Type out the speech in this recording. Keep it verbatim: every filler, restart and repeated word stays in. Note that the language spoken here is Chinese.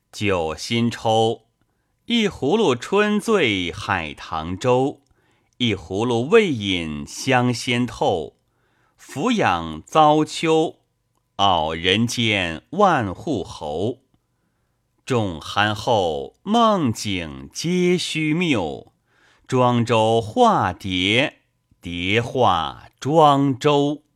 酒新抽，一葫芦春醉海棠粥，一葫芦未饮香仙透。俯仰遭丘，傲人间万户侯。众酣后梦境皆虚谬，庄周化蝶，蝶化庄周。